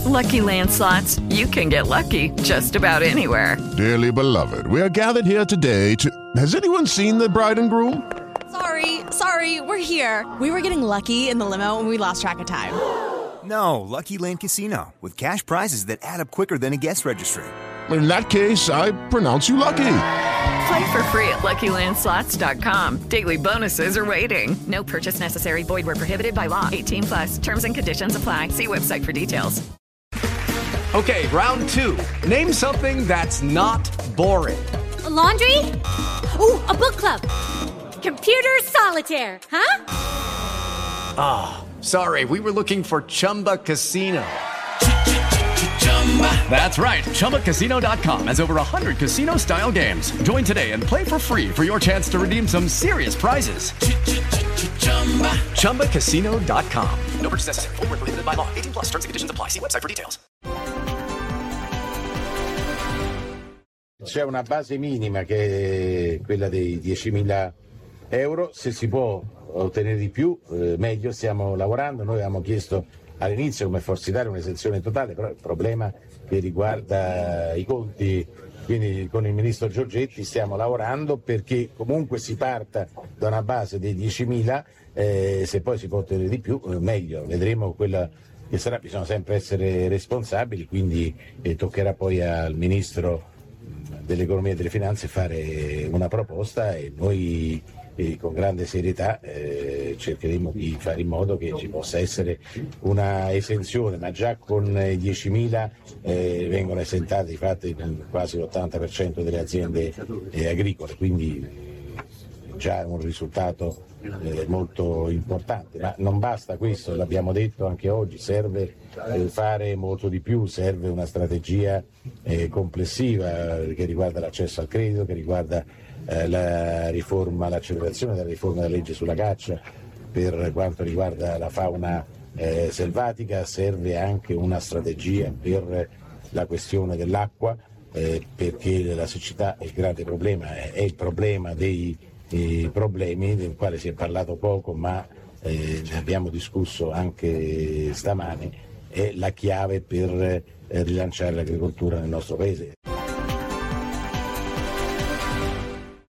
Lucky Land Slots, you can get lucky just about anywhere. Dearly beloved, we are gathered here today to... Has anyone seen the bride and groom? Sorry, we're here. We were getting lucky in the limo and we lost track of time. No, Lucky Land Casino, with cash prizes that add up quicker than a guest registry. In that case, I pronounce you lucky. Play for free at LuckyLandSlots.com. Daily bonuses are waiting. No purchase necessary. Void where prohibited by law. 18+. Terms and conditions apply. See website for details. Okay, round two. Name something that's not boring. A laundry? Ooh, a book club. Computer solitaire, huh? Ah, sorry, we were looking for Chumba Casino. That's right, ChumbaCasino.com has over 100 casino-style games. Join today and play for free for your chance to redeem some serious prizes. ChumbaCasino.com. No purchase necessary. Void where prohibited by law. 18+. Terms and conditions apply. See website for details. C'è una base minima che è quella dei 10.000 euro, se si può ottenere di più meglio, stiamo lavorando. Noi avevamo chiesto all'inizio come Forza Italia un'esenzione totale, però il problema che riguarda i conti, quindi con il ministro Giorgetti stiamo lavorando perché comunque si parta da una base dei 10.000, se poi si può ottenere di più meglio, vedremo quella che sarà, bisogna sempre essere responsabili, quindi toccherà poi al ministro dell'economia e delle finanze fare una proposta e noi con grande serietà cercheremo di fare in modo che ci possa essere una esenzione, ma già con i 10.000 vengono esentate di fatto quasi l'80% delle aziende agricole, quindi già un risultato molto importante, ma non basta questo, l'abbiamo detto anche oggi, serve fare molto di più, serve una strategia complessiva che riguarda l'accesso al credito, che riguarda la riforma, l'accelerazione della riforma della legge sulla caccia, per quanto riguarda la fauna selvatica, serve anche una strategia per la questione dell'acqua, perché la siccità è il grande problema, è il problema dei problemi del quale si è parlato poco, ma ne abbiamo discusso anche stamane, è la chiave per rilanciare l'agricoltura nel nostro paese.